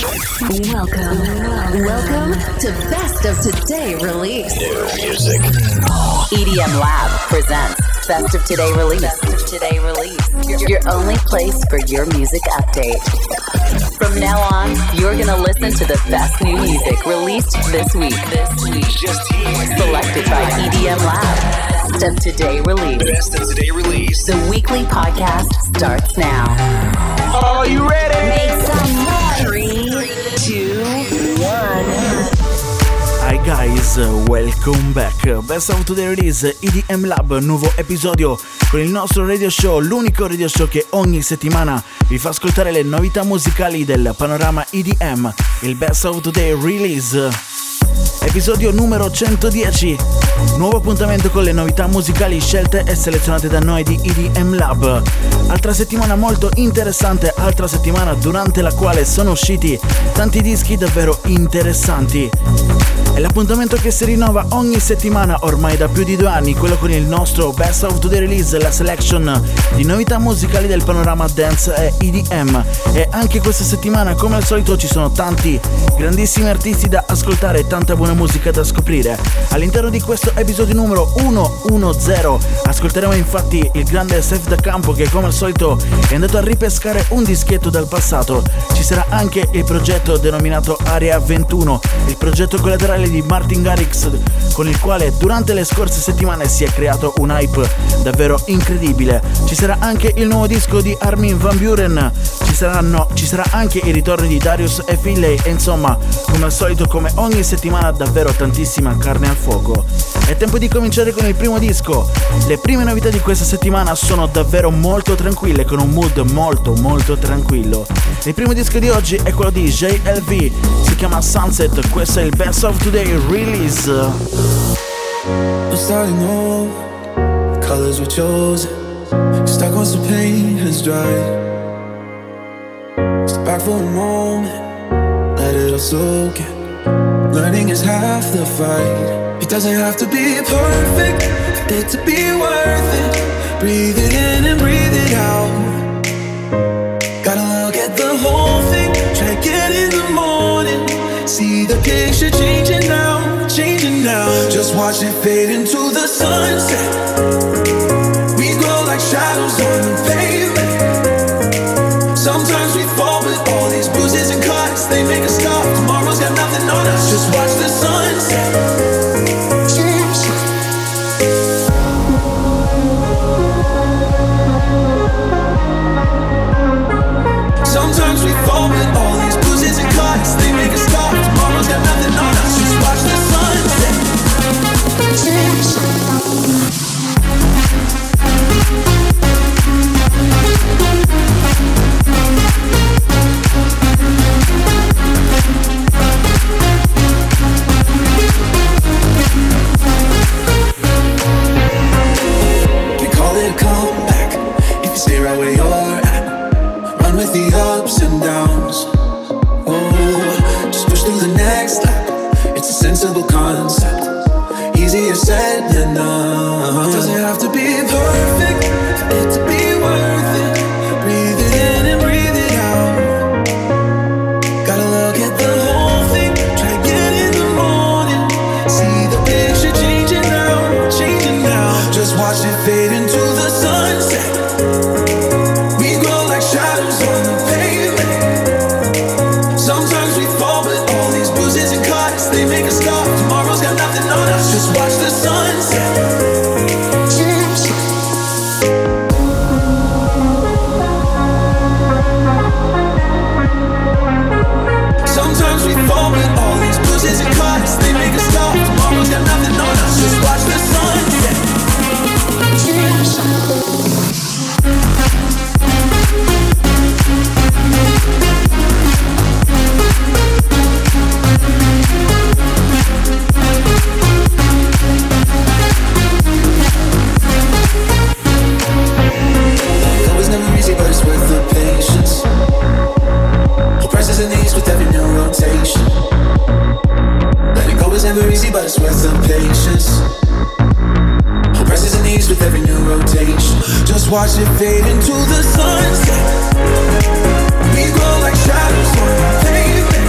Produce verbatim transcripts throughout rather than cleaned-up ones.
Welcome, welcome to Best of Today Release. New music. E D M Lab presents Best of Today Release. Best of Today Release. Your, your only place for your music update. From now on, you're gonna listen to the best new music released this week. This week, Just here. selected by E D M Lab. Best of Today Release. Best of Today Release. The weekly podcast starts now. Are you ready? Make some noise. Three, two, one. Hi guys, welcome back. Best of Today Release, E D M Lab, nuovo episodio con il nostro radio show, l'unico radio show che ogni settimana vi fa ascoltare le novità musicali del panorama E D M, il Best of Today Release. Episodio numero centodieci, nuovo appuntamento con le novità musicali scelte e selezionate da noi di E D M Lab. Altra settimana molto interessante, altra settimana durante la quale sono usciti tanti dischi davvero interessanti. È l'appuntamento che si rinnova ogni settimana ormai da più di due anni, quello con il nostro Best of Today Release, la selection di novità musicali del panorama dance e E D M. E anche questa settimana, come al solito, ci sono tanti grandissimi artisti da ascoltare e tanta buona musica da scoprire. All'interno di questo episodio numero centodieci ascolteremo infatti il grande Seth Da Campo, che come al solito è andato a ripescare un dischetto dal passato. Ci sarà anche il progetto denominato Area ventuno, il progetto collaterale di Martin Garrix, con il quale durante le scorse settimane si è creato un hype davvero incredibile. Ci sarà anche il nuovo disco di Armin van Buuren, ci saranno ci sarà anche il ritorno di Darius e Finlay, e insomma, come al solito, come ogni settimana, davvero tantissima carne al fuoco. È tempo di cominciare con il primo disco. Le prime novità di questa settimana sono davvero molto tranquille, con un mood molto molto tranquillo. Il primo disco di oggi è quello di J L V, si chiama Sunset, questo è il Best of Today Release. I'm starting over, colors were chosen, stuck on some pain has dried. Step back for a moment, let it all soak in. Learning is half the fight. It doesn't have to be perfect for it to be worth it. Breathe it in and breathe it out. Gotta look at the whole thing, try to get in the morning. See the picture changing now, changing now. Just watch it fade into the sunset. We grow like shadows on the pavement. Sometimes we fall, but all these bruises and cuts, they make us stop. Tomorrow's got nothing on us. Just watch the sunset. Sometimes we fall, but all these bruises and cuts, they make us stop. Tomorrow's got nothing on us. Just watch the sunset. We call it a comeback if you stay right where you're at. Run with the ups and downs. Oh, just push through the next lap. It's a sensible concept. Easier said than done. It doesn't have to be perfect for it to be worth it. Breathe it in and breathe it out. Gotta look at the whole thing, try to get in the morning. See the picture changing now, changing now. Just watch it fade into the sunset. We grow like shadows on the pavement. Sometimes we fall, but all these bruises and cuts, they make us stop. Tomorrow's got nothing on us. Just watch the sunset. Sometimes we fall, but all these bruises and cuts, they make us stop. Tomorrow's got nothing on us. Just watch the sunset. It was never easy, but it's worth the patience. The prices in these with every new rotation. Letting go is never easy, but it's worth the patience. The prices in these with every new rotation. Just watch it fade into the sunset. We grow like shadows on the pavement.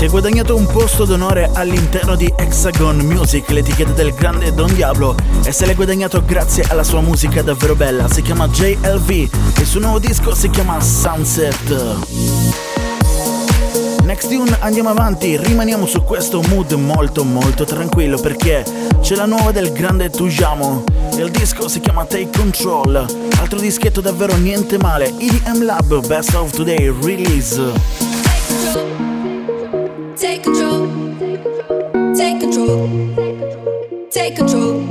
Si è guadagnato un posto d'onore all'interno di Hexagon Music, l'etichetta del grande Don Diablo, e se l'è guadagnato grazie alla sua musica davvero bella. Si chiama J L V e il suo nuovo disco si chiama Sunset. Next tune, andiamo avanti, rimaniamo su questo mood molto molto tranquillo perché c'è la nuova del grande Tujamo. Il disco si chiama Take Control, altro dischetto davvero niente male. E D M Lab Best of Today Release. Take control, take control, take control.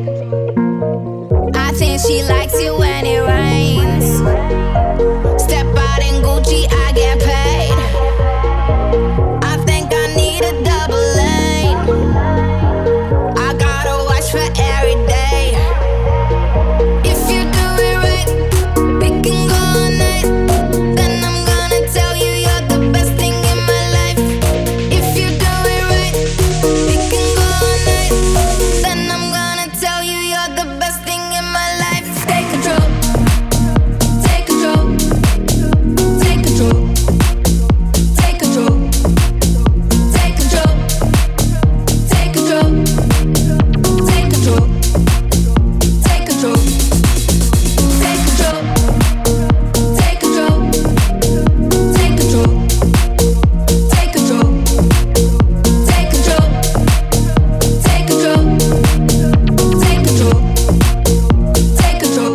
I think she likes it when it rains. Step out in Gucci, I get paid. I think I need a double lane. I gotta watch for every day. If you do it right, we can go all night. Then I'm gonna tell you you're the best thing in my life. If you do it right, we can go all night. Then I'm gonna tell you you're the best thing in my life. Take control, take control, take control, take control, take control, take control, take control, take control, take control, take control, take control, take control, take control, take control, take control, take control.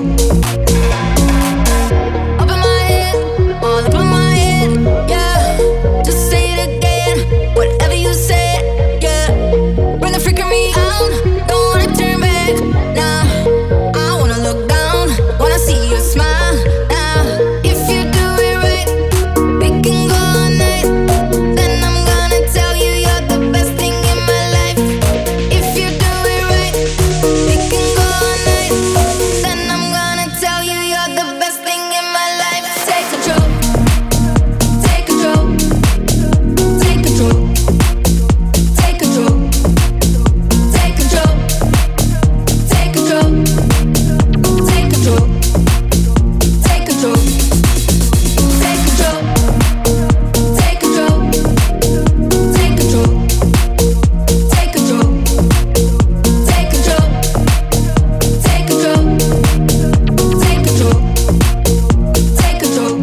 Up in my head, all up in my head, yeah. Just say it again, whatever you said, yeah. Bring the freak in me out, don't wanna turn back, nah. I wanna look down, wanna see you smile, nah. If you do it right, we can go all night. Then I'm gonna tell you you're the best thing in my life. If you do it right, we can go all night. Then I'm gonna tell you you're the best thing in my life. Take control, take control, take control, take control, take control, take control, take control, take control, take control, take control, take control, take control, take control, take control, take control, take control.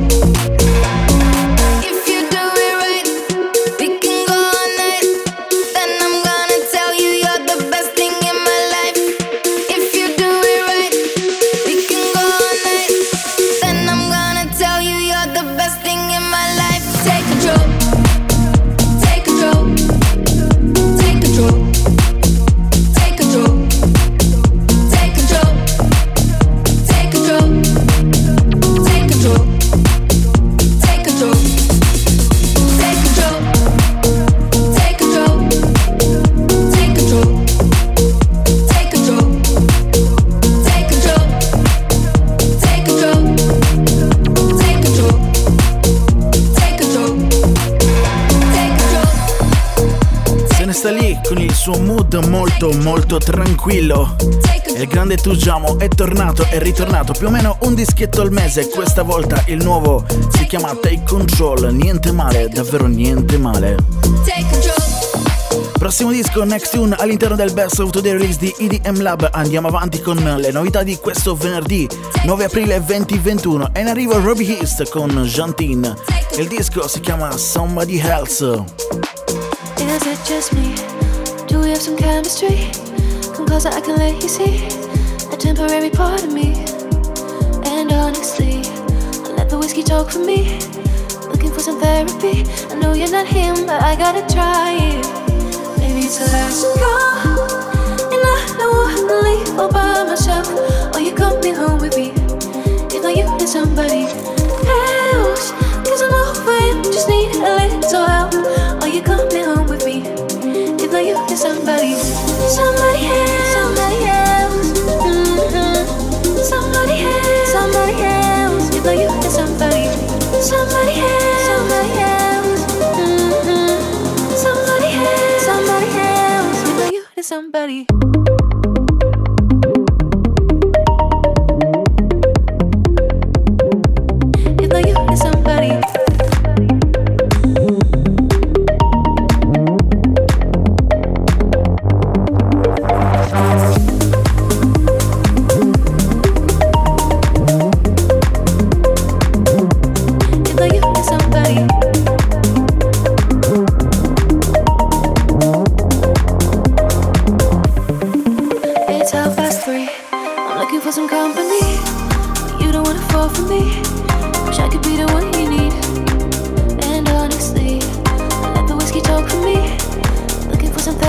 If you do it right, we can go all night. Then I'm gonna tell you you're the best thing in my life. If you do it right, we can go all night. Then I'm gonna tell you you're the best thing in my life. Take control, take control, take control, take control, take control, take control, take control, take control, take control, take control, take control, take control, take control, take control, take control, take control, take control. Se ne sta lì con il suo mood molto molto tranquillo. E il grande Tujamo è tornato, è ritornato più o meno un dischetto al mese. Questa volta il nuovo si chiama Take Control. Niente male, davvero niente male. Take control. Prossimo disco, Next Tune all'interno del Best of Today Release di E D M Lab. Andiamo avanti con le novità di questo venerdì nove aprile duemilaventuno. E in arrivo Robbie East con Jantin. Il disco si chiama Somebody Else. Is it just me? Do we have some chemistry? Come closer, I can let you see a temporary part of me. And honestly, I let the whiskey talk for me. Looking for some therapy. I know you're not him, but I gotta try it. Maybe it's a last call, and I don't wanna leave all by myself. Or you coming home with me? If not you, then somebody else. Cause I'm over it, just need a little help. Or you coming home with me? If not you, then somebody, somebody else, somebody else, mm-hmm. Somebody else, somebody else. If not you, then somebody, somebody else, somebody else, mm-hmm. Somebody else, somebody else. If not you, then somebody. If not you, then somebody.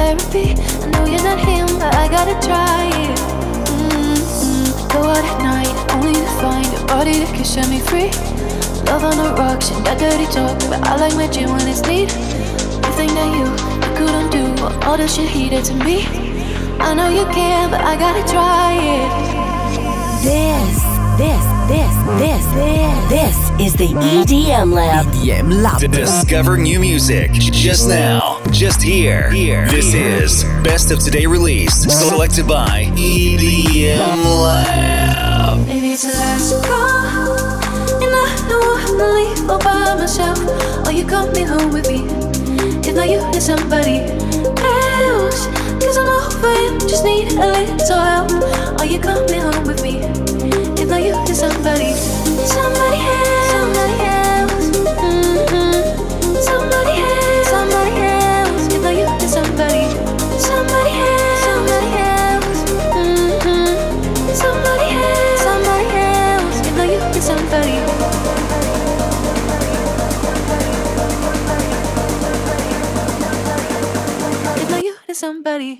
therapy. I know you're not him, but I gotta try it. Mm-hmm. Go out at night, only to find a body that can set me free. Love on the rocks and that dirty talk, but I like my gin when it's neat. You think that you, you could undo all the shit he did to me. I know you can, but I gotta try it. This, this, this, this, this, this is the E D M Lab. E D M Lab. To discover new music just now, just here. Here. This is Best of Today Release, selected by E D M Lab. Maybe it's the last call, and I don't want to leave all by myself. Oh, you come me home with me. If not you, then somebody else. Cause I'm over you, just need a little help. Oh, you come me home with me. If not you, then somebody, somebody else, somebody else, mm-hmm. somebody else, somebody else. If not you, then somebody, somebody else, somebody else, mm-hmm. somebody else, somebody else. If not you, then somebody. If not you, then somebody.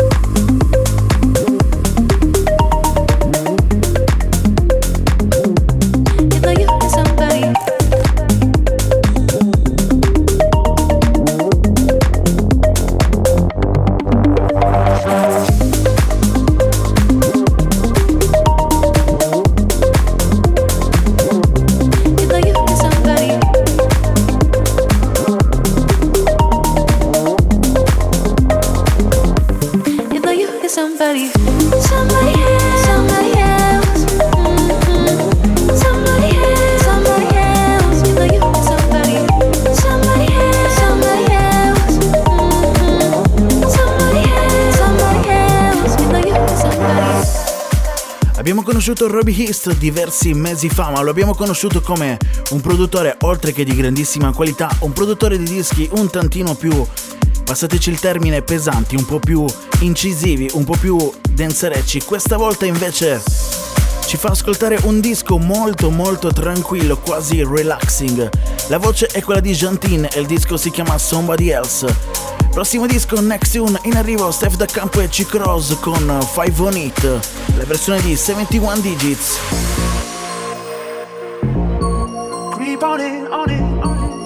Somebody, somebody else, somebody else, mm-hmm. somebody else, somebody else. You know you want somebody, somebody else, somebody else, mm-hmm. somebody else, somebody else. You know you want somebody. Abbiamo conosciuto Robbie East diversi mesi fa, ma lo abbiamo conosciuto come un produttore oltre che di grandissima qualità, un produttore di dischi un tantino più, passateci il termine, pesanti, un po' più incisivi, un po' più danzerecci. Questa volta invece ci fa ascoltare un disco molto molto tranquillo, quasi relaxing. La voce è quella di Jantin e il disco si chiama Somebody Else. Prossimo disco, Next Tune, in arrivo Steph Da Campo e C-Cross con Five on It, la versione di settantuno Digits. Creep on it, on it, on it.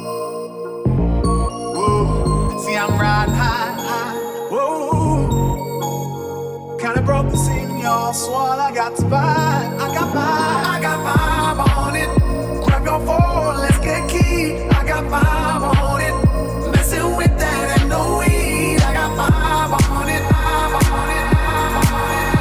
Whoa, see I'm riding high, high. Whoa, kinda broke the signal, so all I got to buy, I got five, I got five on it. Grab your phone, let's get key. I got five on it. Messing with that ain't no weed. I got five on it, five on it, five on it.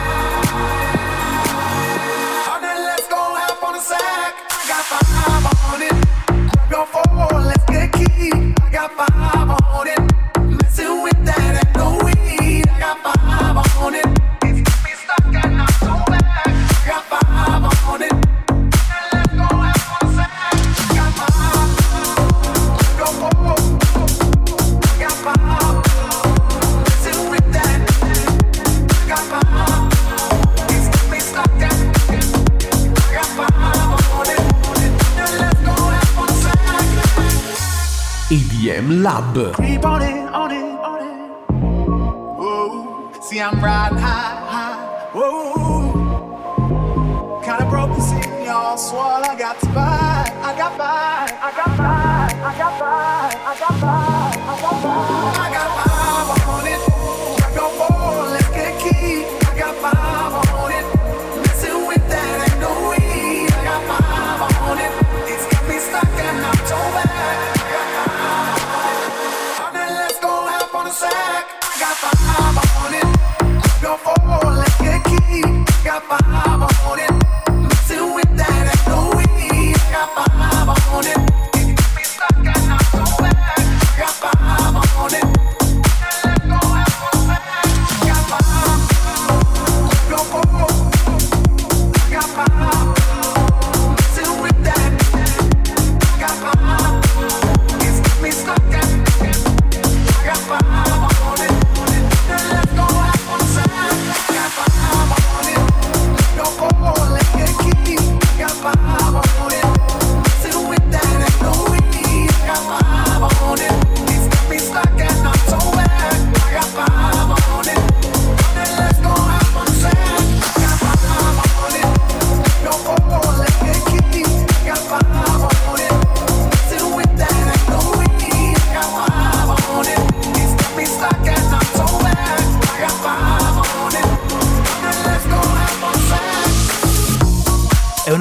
All right, let's go half on the sack. I got five on it. Grab your phone, let's get key. I got five on it. Messing with that ain't no weed. I got five on it. It's got me stuck and I'm so back. I got five on it. Let's go half on the sack. I got five. Grab your phone. I got five. Messing with that. I got five. It's got me stuck and I got five on it. Let's go half on the sack. E D M Lab. Creep on it, on it, on it. Whoa, see I'm riding high, high. Whoa, kinda broke the signal, so all I got to buy, I got five, I got five, I got five, I got five, I got five, I got five on it. Grab your phone, let's get key. I got five on it. Messing with that ain't no weed. I got five on it. It's got me stuck and I'm so bad. I got five on it. All right, let's go half on the sack. I got five on it. Grab your phone, let's get key. I got five on it. Messing with that ain't no weed. I got five on it. It's got me stuck and I'm so bad. I got five on it. Let's go half on the sack. I got five. Grab your phone. I got five. Messing with that. I got five. It's got me stuck and I got five on it. Let's go half on the sack. I got five on it. Your phone, let's get key. I got five on it. Messing with that ain't no weed. I got five on it. It's got me stuck and I'm so bad. I got five.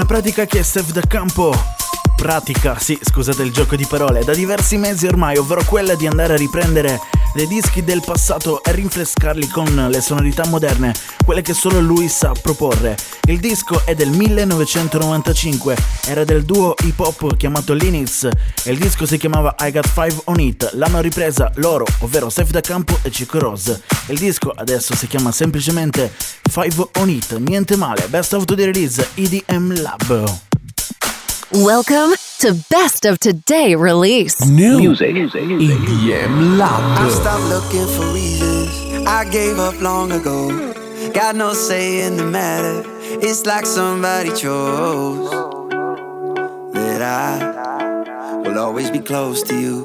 pratica che Steph Da Campo pratica, sì, scusate il gioco di parole, da diversi mesi ormai, ovvero quella di andare a riprendere dei dischi del passato e rinfrescarli con le sonorità moderne, quelle che solo lui sa proporre. Il disco è del millenovecentonovantacinque, era del duo hip hop chiamato Linux e il disco si chiamava I Got Five On It. L'hanno ripresa loro, ovvero Steph Da Campo e Chico Rose. Il disco adesso si chiama semplicemente Five On It, niente male. Best of the Release, E D M Lab. Welcome to Best of Today Release. New music, E D M Lab. I stopped looking for reasons. I gave up long ago. Got no say in the matter. It's like somebody chose that I will always be close to you.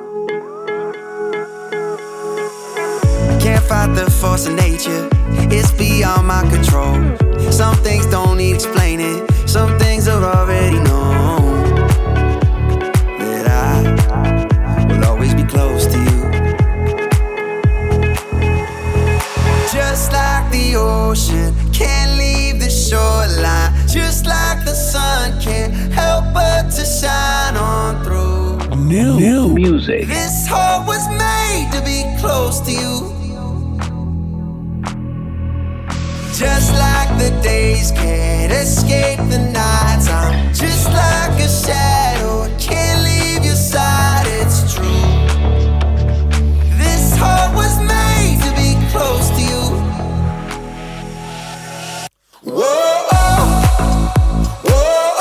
Can't fight the force of nature. It's beyond my control. Some things don't need explaining. Some things are already known. That I will always be close to you. Just like the ocean can't leave the shoreline. Just like the sun can't help but to shine on through. New, New music. This heart was made to be close to you. Just like the days can't escape the nights, I'm just like a shadow, can't leave your side, it's true. This heart was made to be close to you. Whoa, oh, whoa,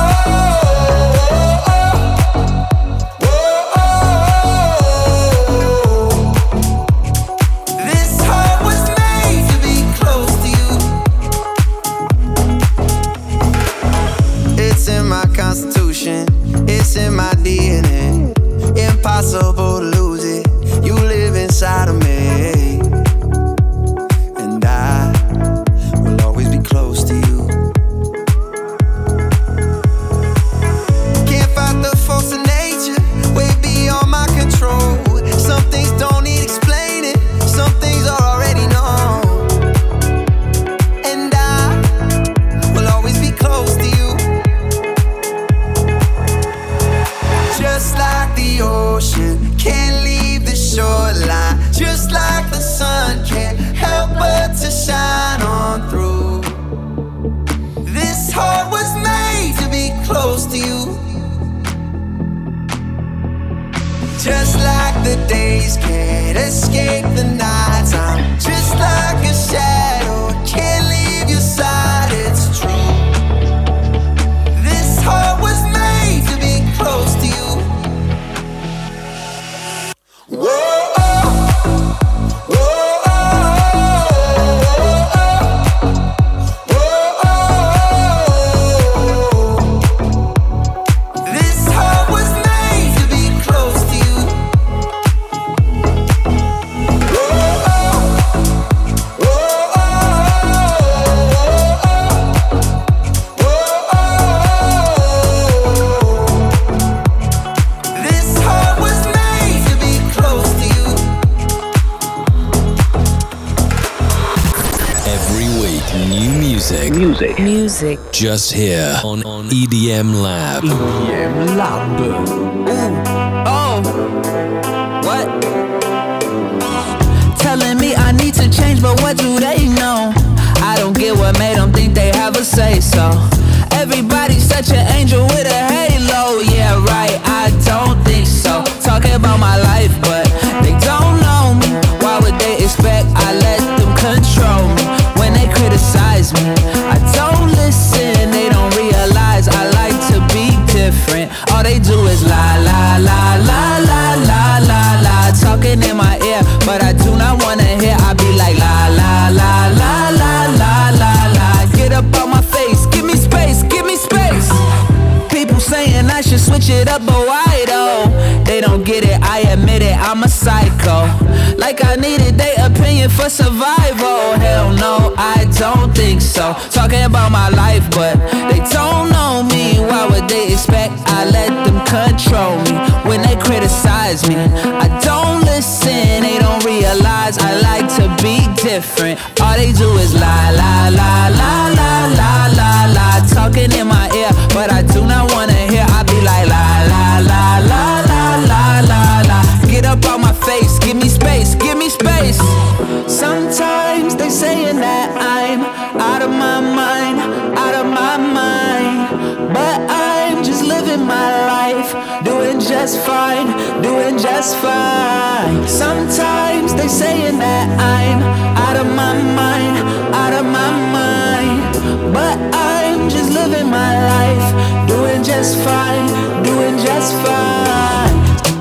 oh, whoa, oh. This heart was made to be close to you. It's in my constitution, it's in my D N A. Impossible to lose it, you live inside of me. And I will always be close to you. Can't fight the force of nature, way beyond my control. Some things don't need explaining, some things are already known. And I will always be close to you. Just like the ocean can't leave the shoreline. Just like the sun can't help but to shine on through. This heart was made to be close to you. Just like the days can't escape the nights, I'm just like a shadow, can't leave your side, it's true. This heart was made to be close to you. Whoa, oh, whoa, oh, whoa, oh. This heart was made to be close to you. Whoa, oh, whoa, oh. This heart was made to be close to you. Every week, new music. Music. Music. Just here on, on E D M Lab. E D M Lab. Oh, what? Telling me I need to change, but what do they know? I don't get what made them think they have a say so. Everybody's such an angel with a halo. Yeah, right, I don't think so. Talking about my life, but they don't know me. Why would they expect I let them control me? When they criticize me, I don't listen. They don't realize I like to be different. All they do is lie, lie, lie, lie, lie, lie, lie, lie. Talking in my ear, but I do not wanna hear. I be like la, la, la, la, la, la, la, la. Get up on my face, give me space, give me space. People saying I should switch it up, but why though? They don't get it, I admit it, I'm a psycho. Like I needed their opinion for survival. Hell no, I don't think so. Talking about my life, but they don't know me. Why would they expect I let them control me? When they criticize me, I don't listen. They don't realize I like to be different. All they do is lie, lie, lie, lie, lie, lie, lie, lie. Talking in my ear, just fine, doing just fine. Sometimes they saying that I'm out of my mind, out of my mind, but I'm just living my life, doing just fine, doing just fine.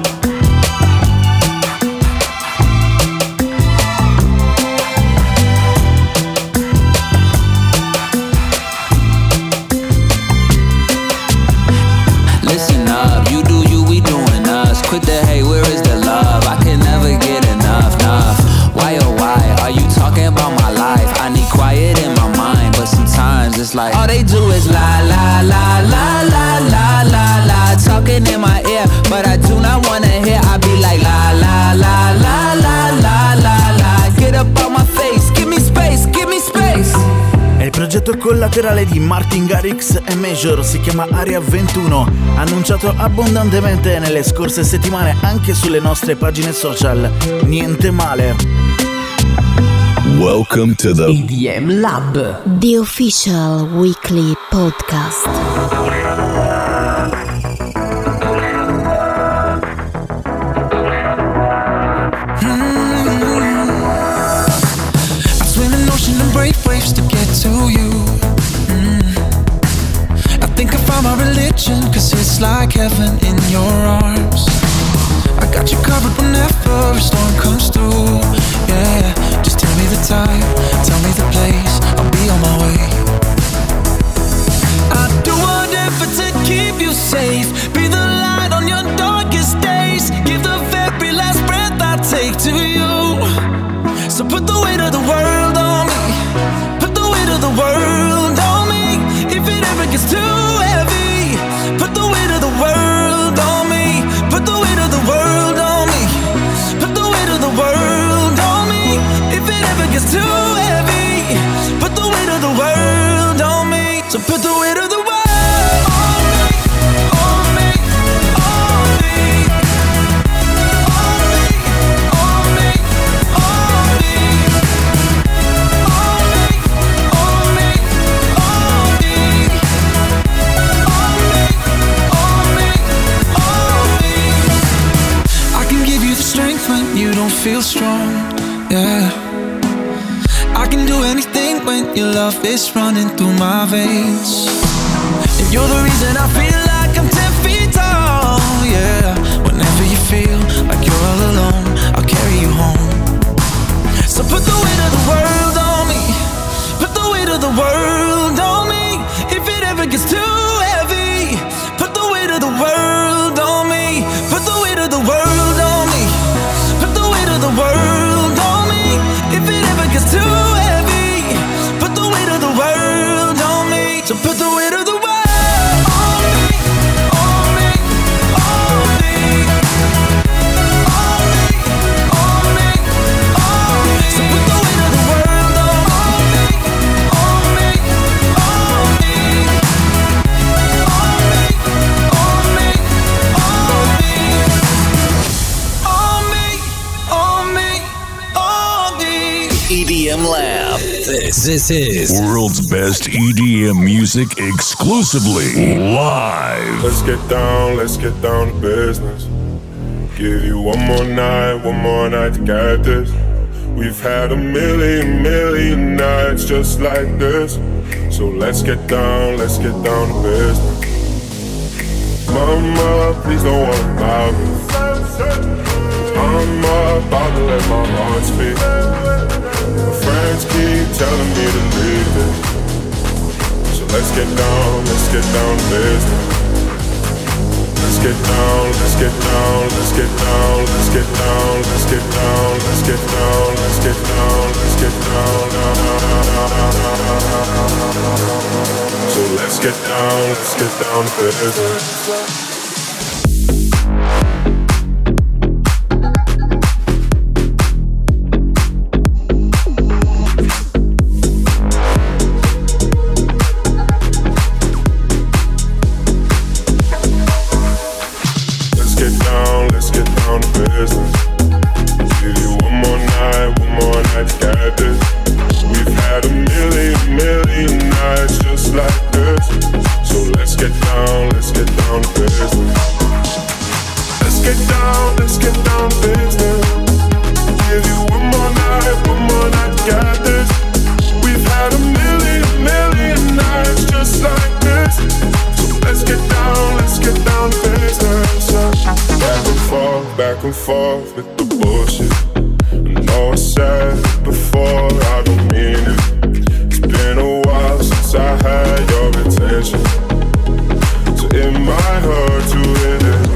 Quit the hate, where is the love? I can never get enough, enough. Why oh why are you talking about my life? I need quiet in my mind, but sometimes it's like all they do is la la la la la la la la, talking in my ear, but I do not wanna hear. I be like la la la la la la la la. Get up on my face, give me space, give me space. È il progetto collaterale di Martin Garrix e Major, si chiama Area ventuno, annunciato abbondantemente nelle scorse settimane anche sulle nostre pagine social. Niente male. Welcome to the E D M Lab, the official weekly podcast. Brave waves to get to you. mm. I think I found my religion, cause it's like heaven in your arms. I got you covered whenever a storm comes through. Yeah, just tell me the time, tell me the place, I'll be on my way. I'd do whatever to keep you safe, be the light on your darkest days, give the very last breath I take to you. So put the weight of the world on me, put the weight of the world on me. If it ever gets too heavy, put the weight of the world on me, put the weight of the world on me, put the weight of the world on me. If it ever gets too heavy, put the weight of the world on me. So put the weight of the world on me, on me, on me, on me, on me, on me, on me, on me, on me, on me, on me. I can give you the strength when you don't feel strong, yeah. I can do anything when your love is running through my veins. And you're the reason I feel like I'm ten feet tall, yeah. Whenever you feel like you're all alone, I'll carry you home. So put the weight of the world on me, put the weight of the world on me. If it ever gets too heavy, put the weight of the world on me, put the weight of the world on me, put the weight of the world on me. If it ever gets too heavy, put the weight of the world on me. So put the weight of the world on me, on me, on me, on me, on me, on me. So put the weight of the world on me, on me, on me, on me, on me, on me, on me, on me. E D M Lab. This, this is world's best E D M music exclusively live. Let's get down, let's get down to business. Give you one more night, one more night to get this. We've had a million, million nights just like this. So let's get down, let's get down to business. Mama, please don't worry about me. I'm about to let my heart speak. My friends keep telling me to leave it. So let's get down, let's get down to business. Let's get down, let's get down, let's get down, let's get down, let's get down, let's get down, let's get down, let's get down. So let's get down, let's get down to business. Like this, so let's get down, let's get down to business. and forth with the bullshit. I know I said it before, I don't mean it. It's been a while since I had your attention, so it might hurt to hit it.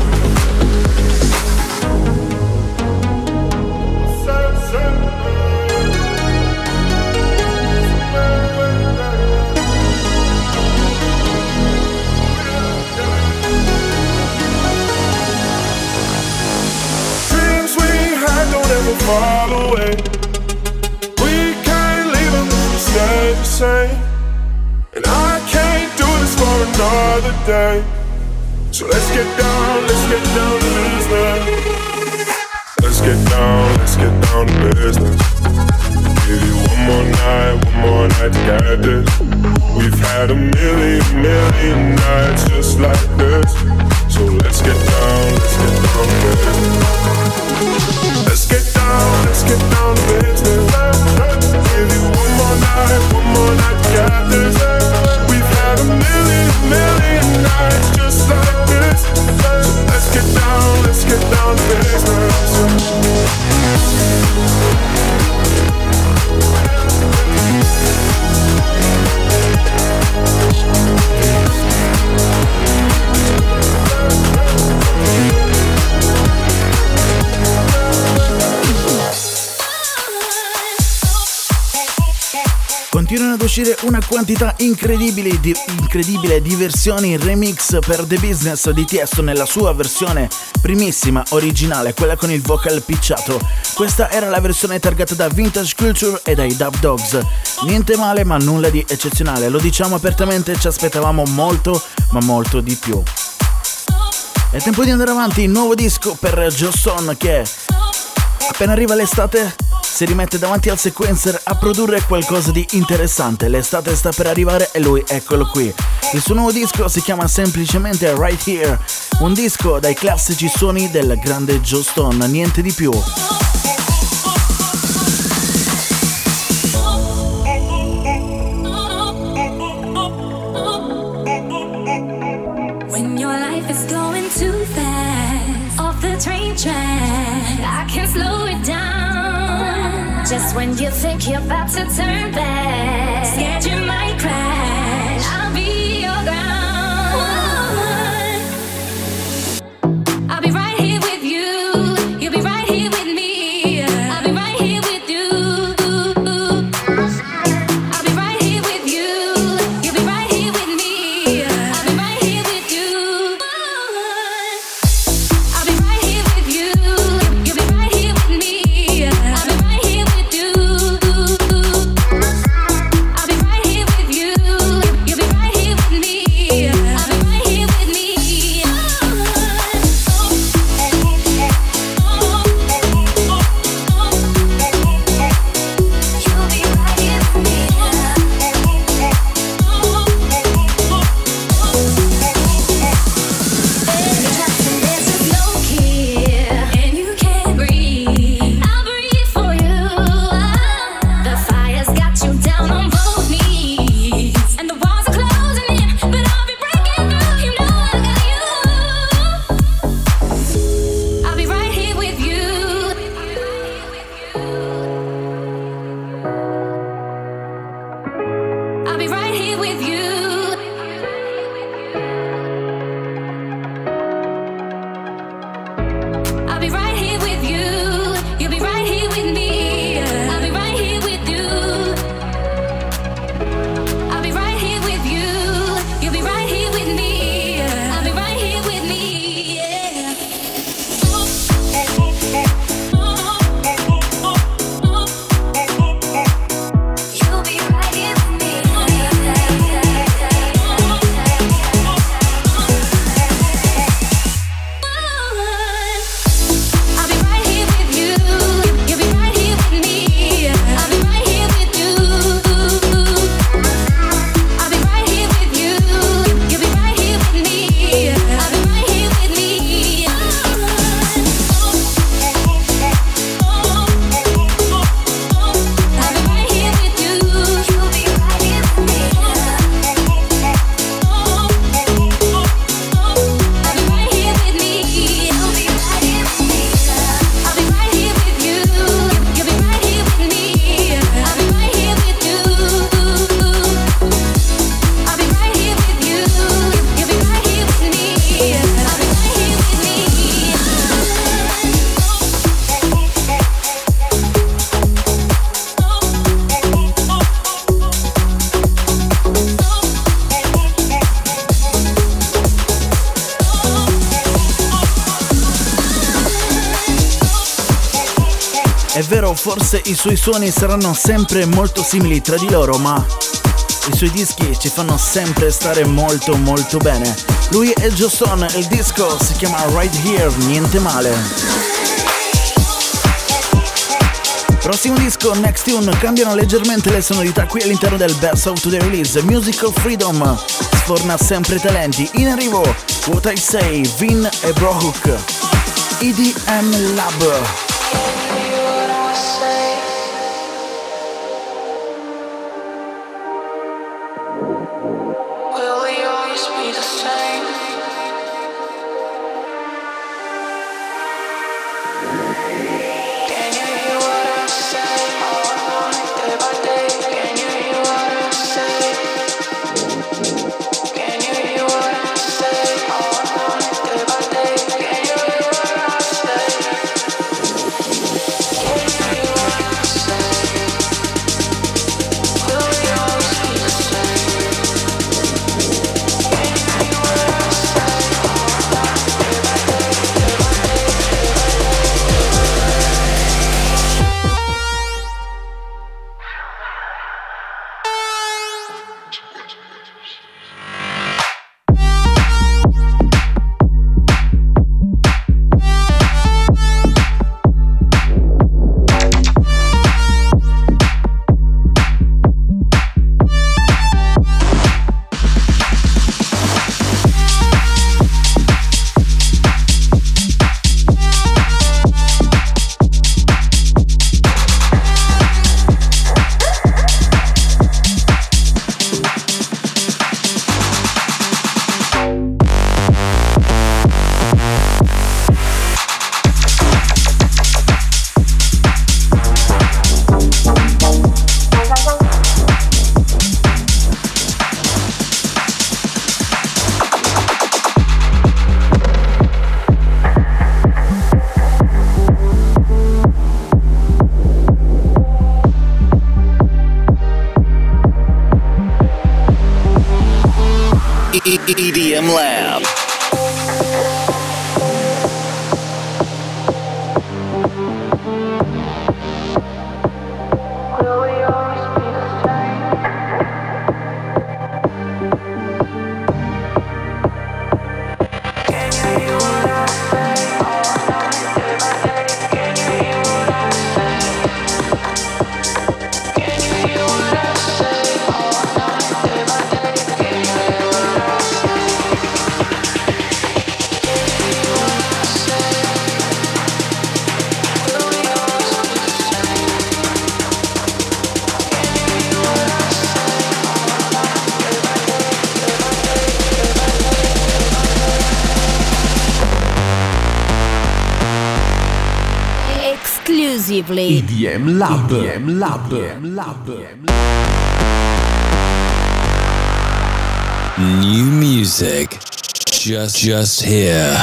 Far away, we can't leave them if we stay the same. And I can't do this for another day. So let's get down, let's get down to business. Let's get down, let's get down to business. Give you one more night, one more night to get this. We've had a million, million nights just like this. So let's get down, let's get down to business. Let's get down, let's get down to business. Give you one more night, one more night to get this. We've had a million, million nights just like this. So let's get down, let's get down to business. Continuano ad uscire una quantità incredibile di, incredibile di versioni remix per The Business di Tiesto nella sua versione primissima, originale, quella con il vocal picciato. Questa era la versione targata da Vintage Culture e dai Dub Dogs. Niente male, ma nulla di eccezionale, lo diciamo apertamente, ci aspettavamo molto, ma molto di più. È tempo di andare avanti, nuovo disco per Joe Stone che appena arriva l'estate si rimette davanti al sequencer a produrre qualcosa di interessante. L'estate sta per arrivare e lui eccolo qui. Il suo nuovo disco si chiama semplicemente Right Here, un disco dai classici suoni del grande Joe Stone, niente di più. When your life is going too fast, off the train track, I can slow it down. Just when you think you're about to turn back, scared you might crash, I'll be your ground. I'll be right here with you, you'll be right here with me. I'll be right here with you. I'll be right here with you, you'll be right here with me. I'll be right here with you. I'll be right here with you, you'll be right here with me. I'll be right here with you. I'll be right here with È vero, forse i suoi suoni saranno sempre molto simili tra di loro, ma i suoi dischi ci fanno sempre stare molto molto bene. Lui è Joe Stone, il disco si chiama Right Here, niente male. Prossimo disco, Next Tune, cambiano leggermente le sonorità qui all'interno del Best of Today Release. Musical Freedom sforna sempre talenti. In arrivo, What I Say, Vin e Brohook, E D M Lab. E D M Lab. Exclusively E D M Lab. E D M Lab. E D M Lab. New music. Just just here.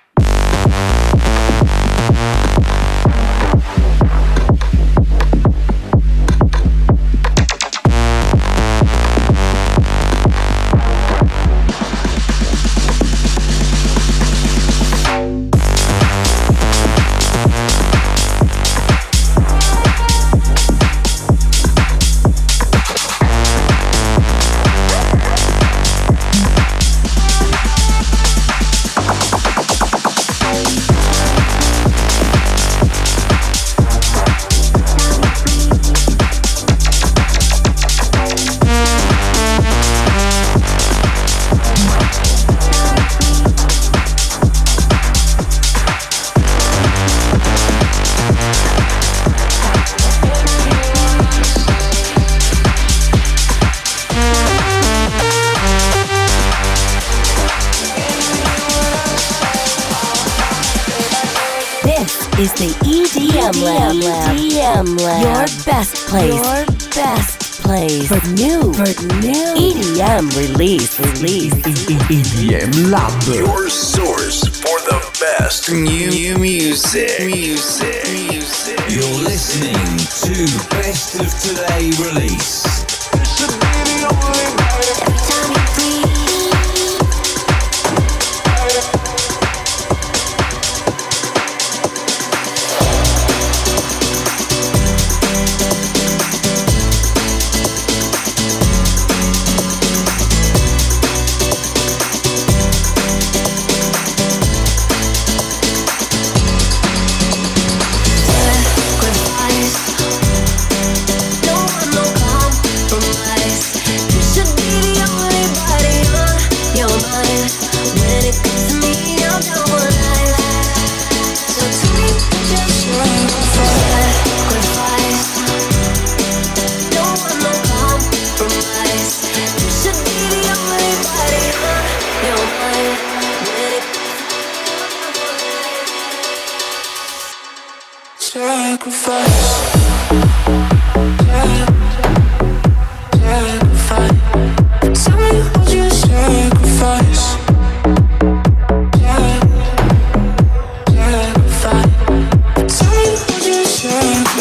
is the E D M Lab. E D M Lab. Your best place. Your best place for new, for new E D M release, release. E D M Lab. Your source for the best new, new music. Music. Music. You're listening to Best of Today Release.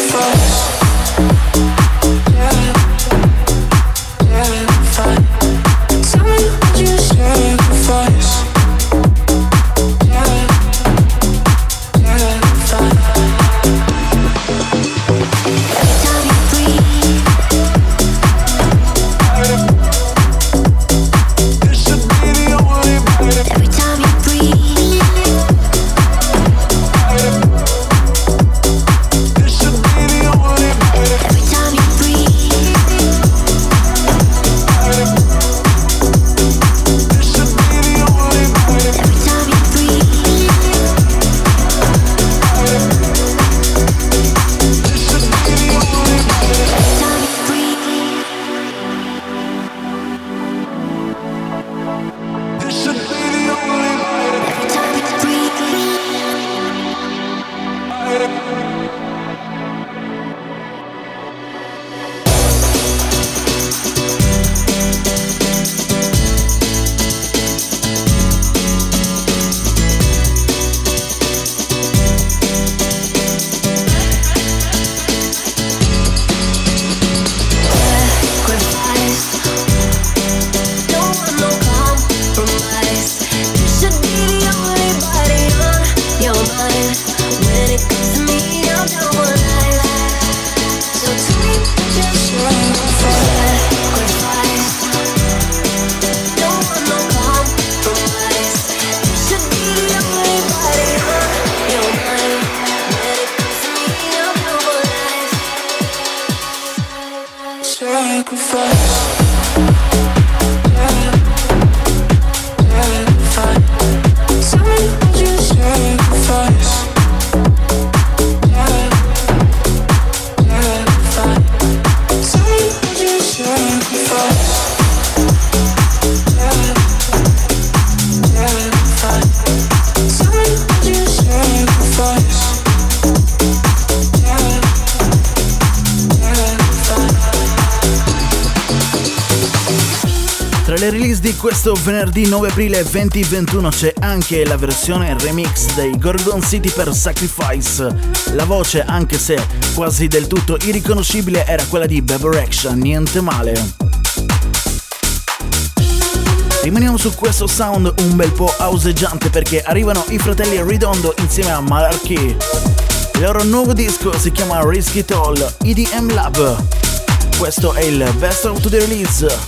Questo venerdì nove aprile duemilaventuno c'è anche la versione remix dei Gorgon City per Sacrifice. La voce, anche se quasi del tutto irriconoscibile, era quella di Bebe Rexha, niente male. Rimaniamo su questo sound un bel po' houseggiante perché arrivano i fratelli Redondo insieme a Malarkey. Il loro nuovo disco si chiama Risk It All, E D M Lab. Questo è il Best of the Release.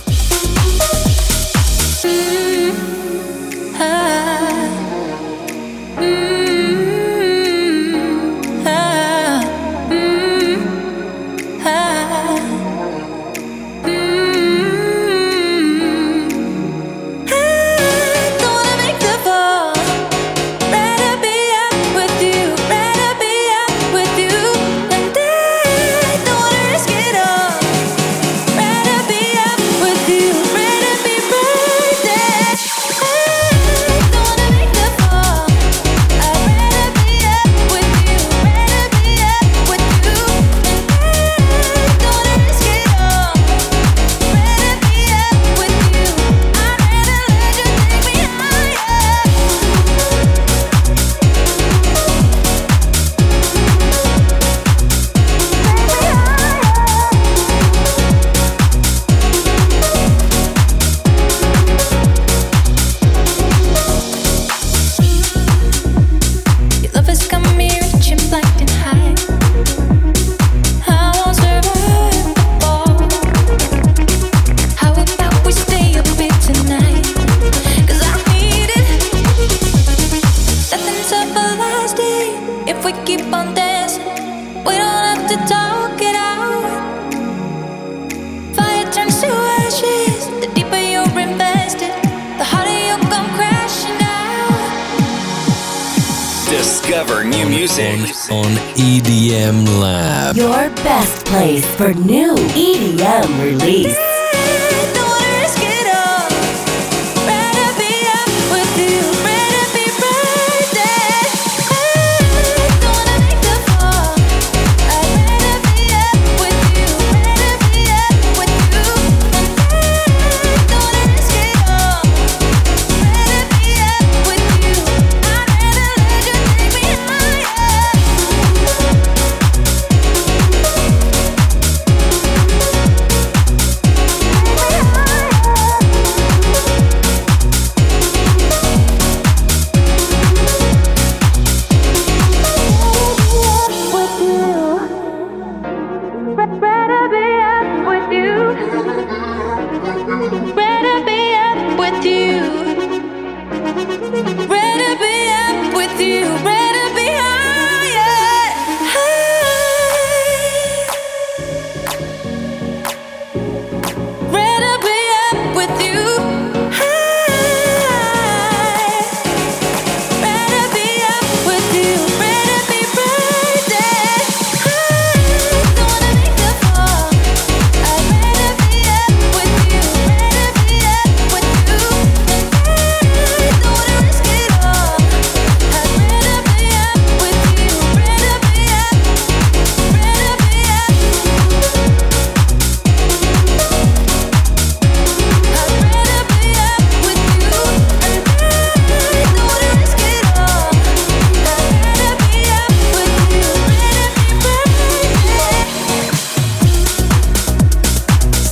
Discover new music on E D M Lab. Your best place for new E D M release.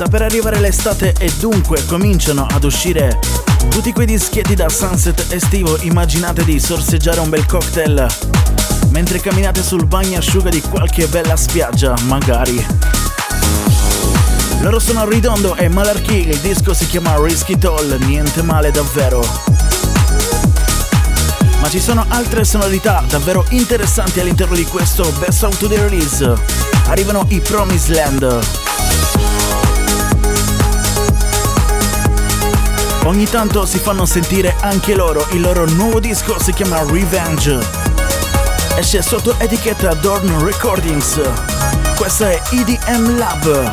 Sta per arrivare l'estate e dunque cominciano ad uscire tutti quei dischetti da sunset estivo. Immaginate di sorseggiare un bel cocktail mentre camminate sul bagnasciuga di qualche bella spiaggia, magari. Loro sono Ridondo e Malarkey, il disco si chiama Risky Toll, niente male davvero. Ma ci sono altre sonorità davvero interessanti all'interno di questo Best of Today Release. Arrivano i Promised Land. Ogni tanto si fanno sentire anche loro, il loro nuovo disco si chiama Revenge. Esce sotto etichetta Dorn Recordings. Questa è E D M Lab.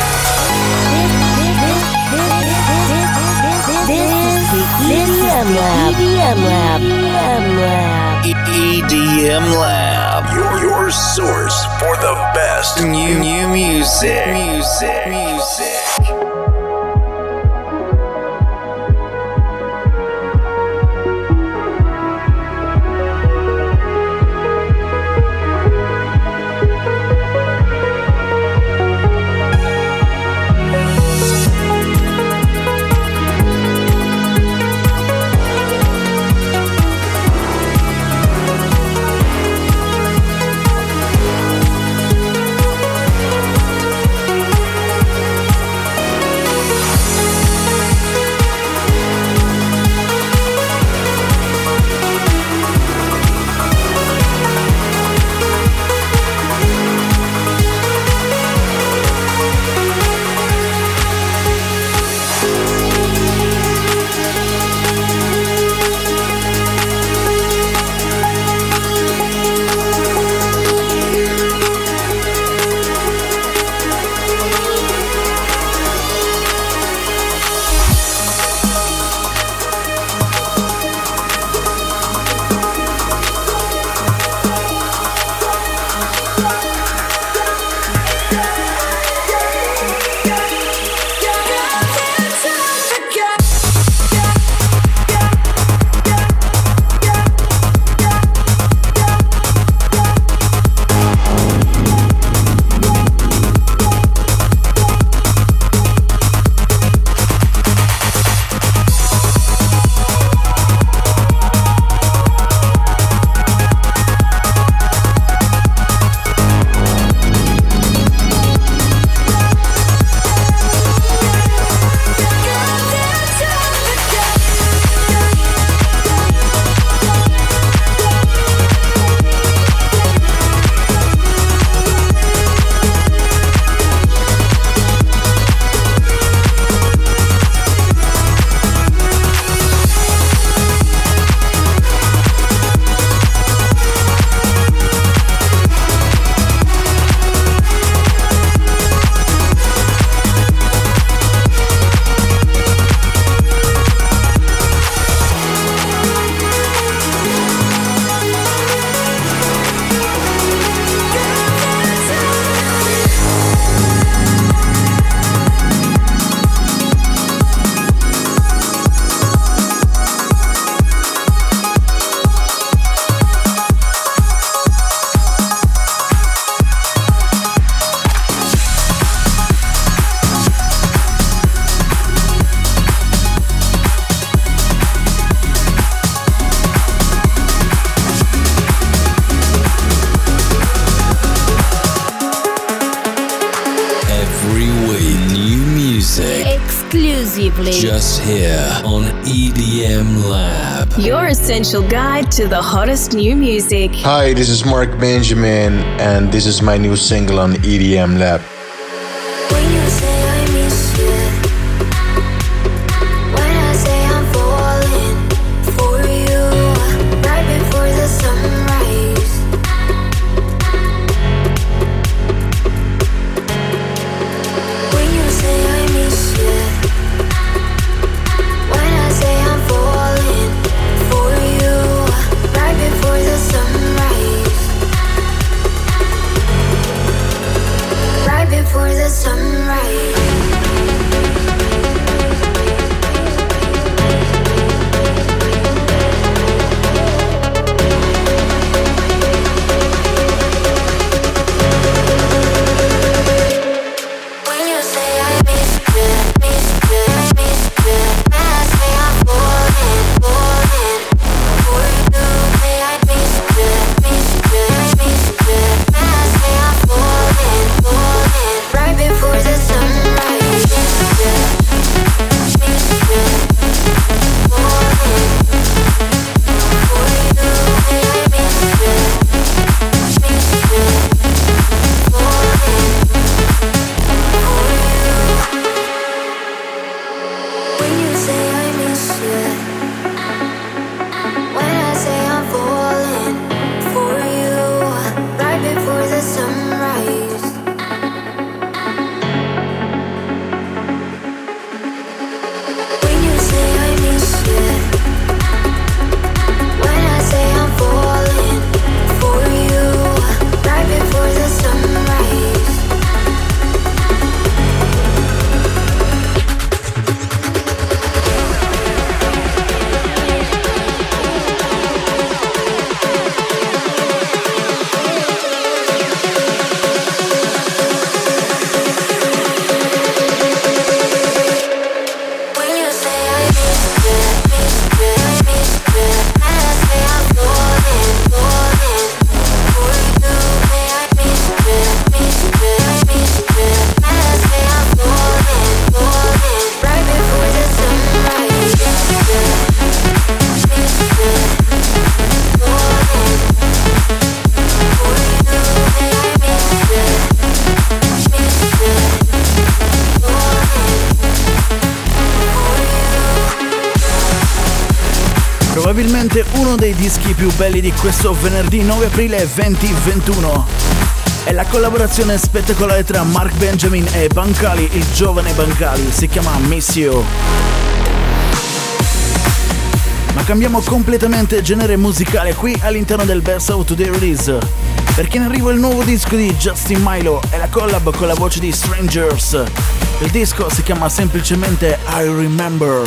E D M Lab. E D M Lab. E D M Lab. Your, your source for the best new, new music. Music. Music. exclusively just here on E D M Lab, your essential guide to the hottest new music. Hi, this is Mark Benjamin, and this is my new single on E D M Lab. When you say I miss Probabilmente uno dei dischi più belli di questo venerdì nove aprile duemilaventuno. È la collaborazione spettacolare tra Mark Benjamin e Bancali, il giovane Bancali, si chiama Miss You. Ma cambiamo completamente genere musicale qui all'interno del Best of Today Release, perché in arrivo il nuovo disco di Justin Milo e la collab con la voce di Strangers. Il disco si chiama semplicemente I Remember.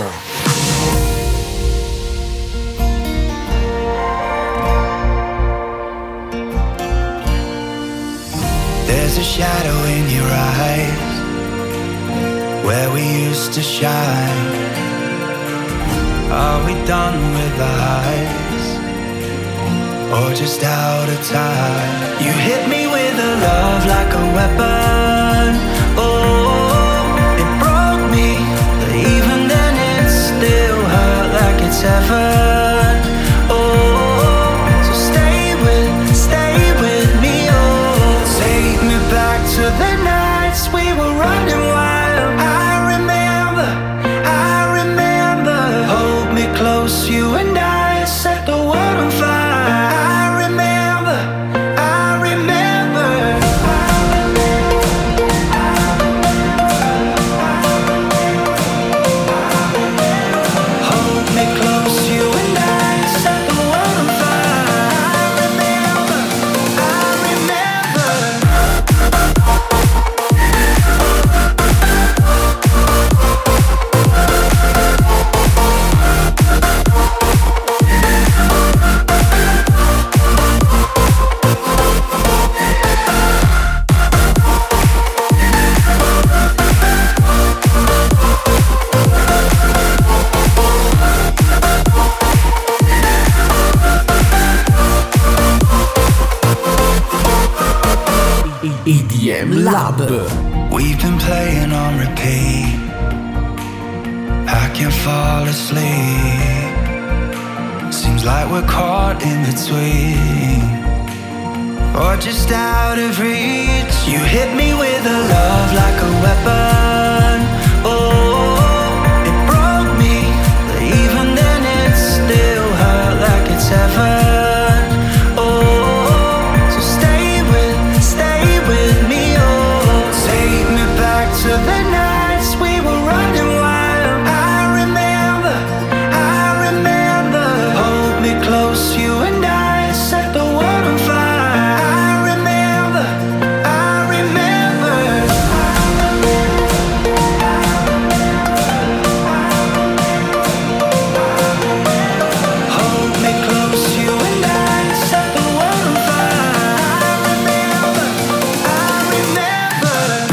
There's a shadow in your eyes where we used to shine. Are we done with the highs or just out of time? You hit me with a love like a weapon. Oh, it broke me, but even then it still hurt like it's heaven. Oh, so stay with, stay with me. Oh, take me back to the nights we were running wild. I remember, I remember. Hold me close, you and I set the world on fire. I remember, I remember. Hold me close, you and I set the world on fire. I remember, I remember. E D M Lab. We've been playing on repeat. I can't fall asleep. Seems like we're caught in between, or just out of reach. You hit me with a love like a weapon. Oh, it broke me, but even then it still hurt like it's heaven. To the nights we were running wild. I remember, I remember. Hold me close, you and I set the world on fire. I remember, I remember. Hold me close, you and I set the world on fire. I remember, I remember.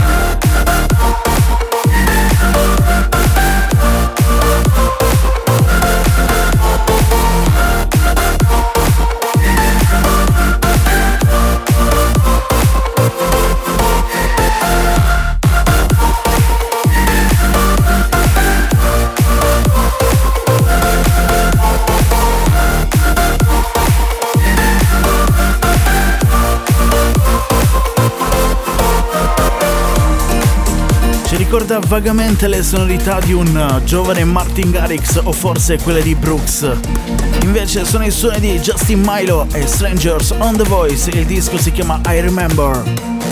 Ci ricorda vagamente le sonorità di un giovane Martin Garrix o forse quelle di Brooks. Invece sono i suoni di Justin Milo e Strangers on The Voice. Il disco si chiama I Remember.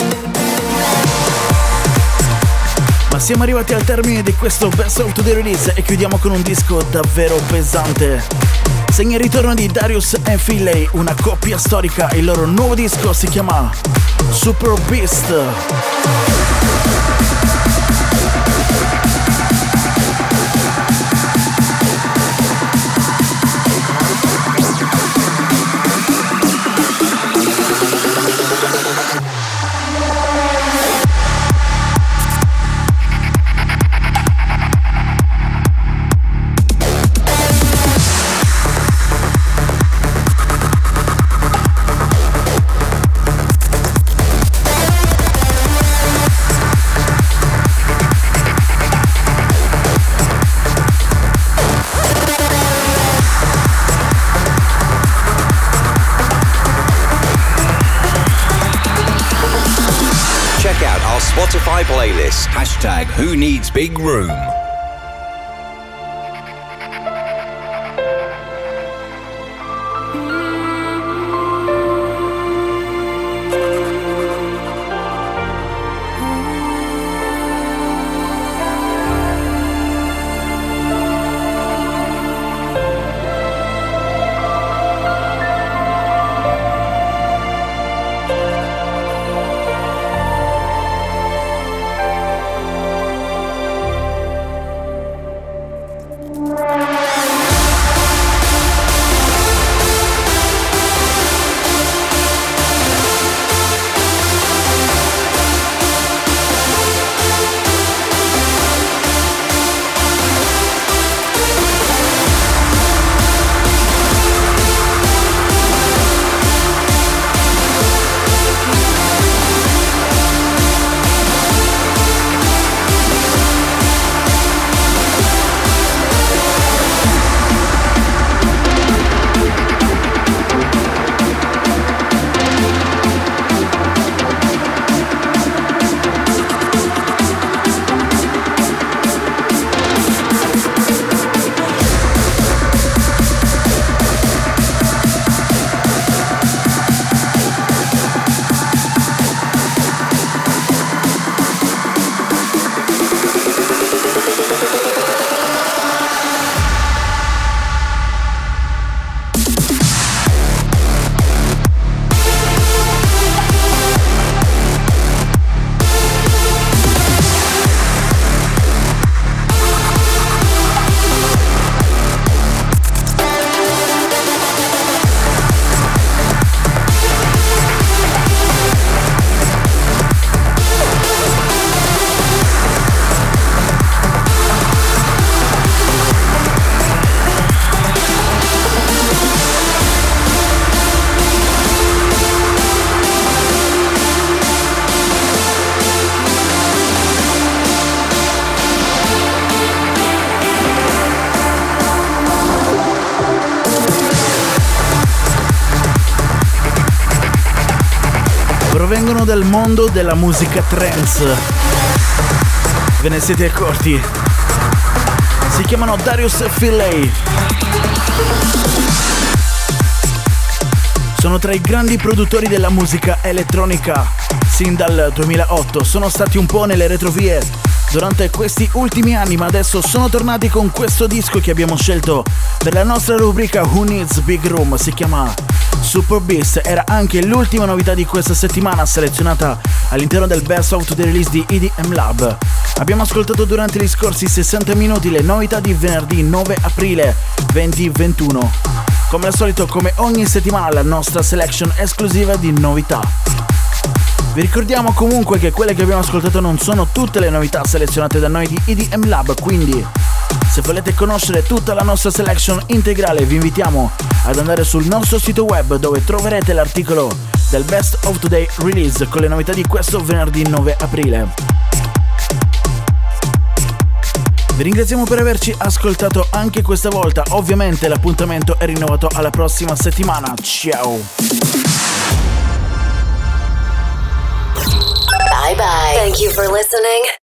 Ma siamo arrivati al termine di questo Best of Today Release e chiudiamo con un disco davvero pesante. Segna il ritorno di Darius e Finlay, una coppia storica. Il loro nuovo disco si chiama Super Beast. Spotify playlist. Hashtag Who Needs Big Room. provengono dal mondo della musica trance. Ve ne siete accorti? Si chiamano Darius Philey. Sono tra i grandi produttori della musica elettronica. Sin dal duemilaotto sono stati un po' nelle retrovie durante questi ultimi anni, ma adesso sono tornati con questo disco che abbiamo scelto per la nostra rubrica Who Needs Big Room. Si chiama Super Beast. Era anche l'ultima novità di questa settimana selezionata all'interno del Best of the Release di E D M Lab. Abbiamo ascoltato durante gli scorsi sessanta minuti le novità di venerdì nove aprile duemilaventuno. Come al solito, come ogni settimana, la nostra selection esclusiva di novità. Vi ricordiamo comunque che quelle che abbiamo ascoltato non sono tutte le novità selezionate da noi di E D M Lab, quindi se volete conoscere tutta la nostra selection integrale vi invitiamo ad andare sul nostro sito web, dove troverete l'articolo del Best of Today Release con le novità di questo venerdì nove aprile. Vi ringraziamo per averci ascoltato anche questa volta. Ovviamente l'appuntamento è rinnovato alla prossima settimana. Ciao! Bye bye. Thank you for listening.